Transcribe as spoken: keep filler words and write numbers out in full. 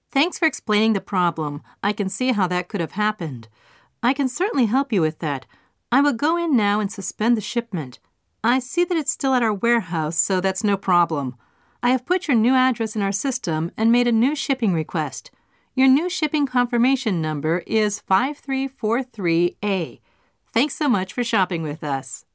Thanks for explaining the problem. I can see how that could have happened. I can certainly help you with that. I will go in now and suspend the shipment. I see that it's still at our warehouse, so that's no problem. I have put your new address in our system and made a new shipping request. Your new shipping confirmation number is five three four three A. Thanks so much for shopping with us.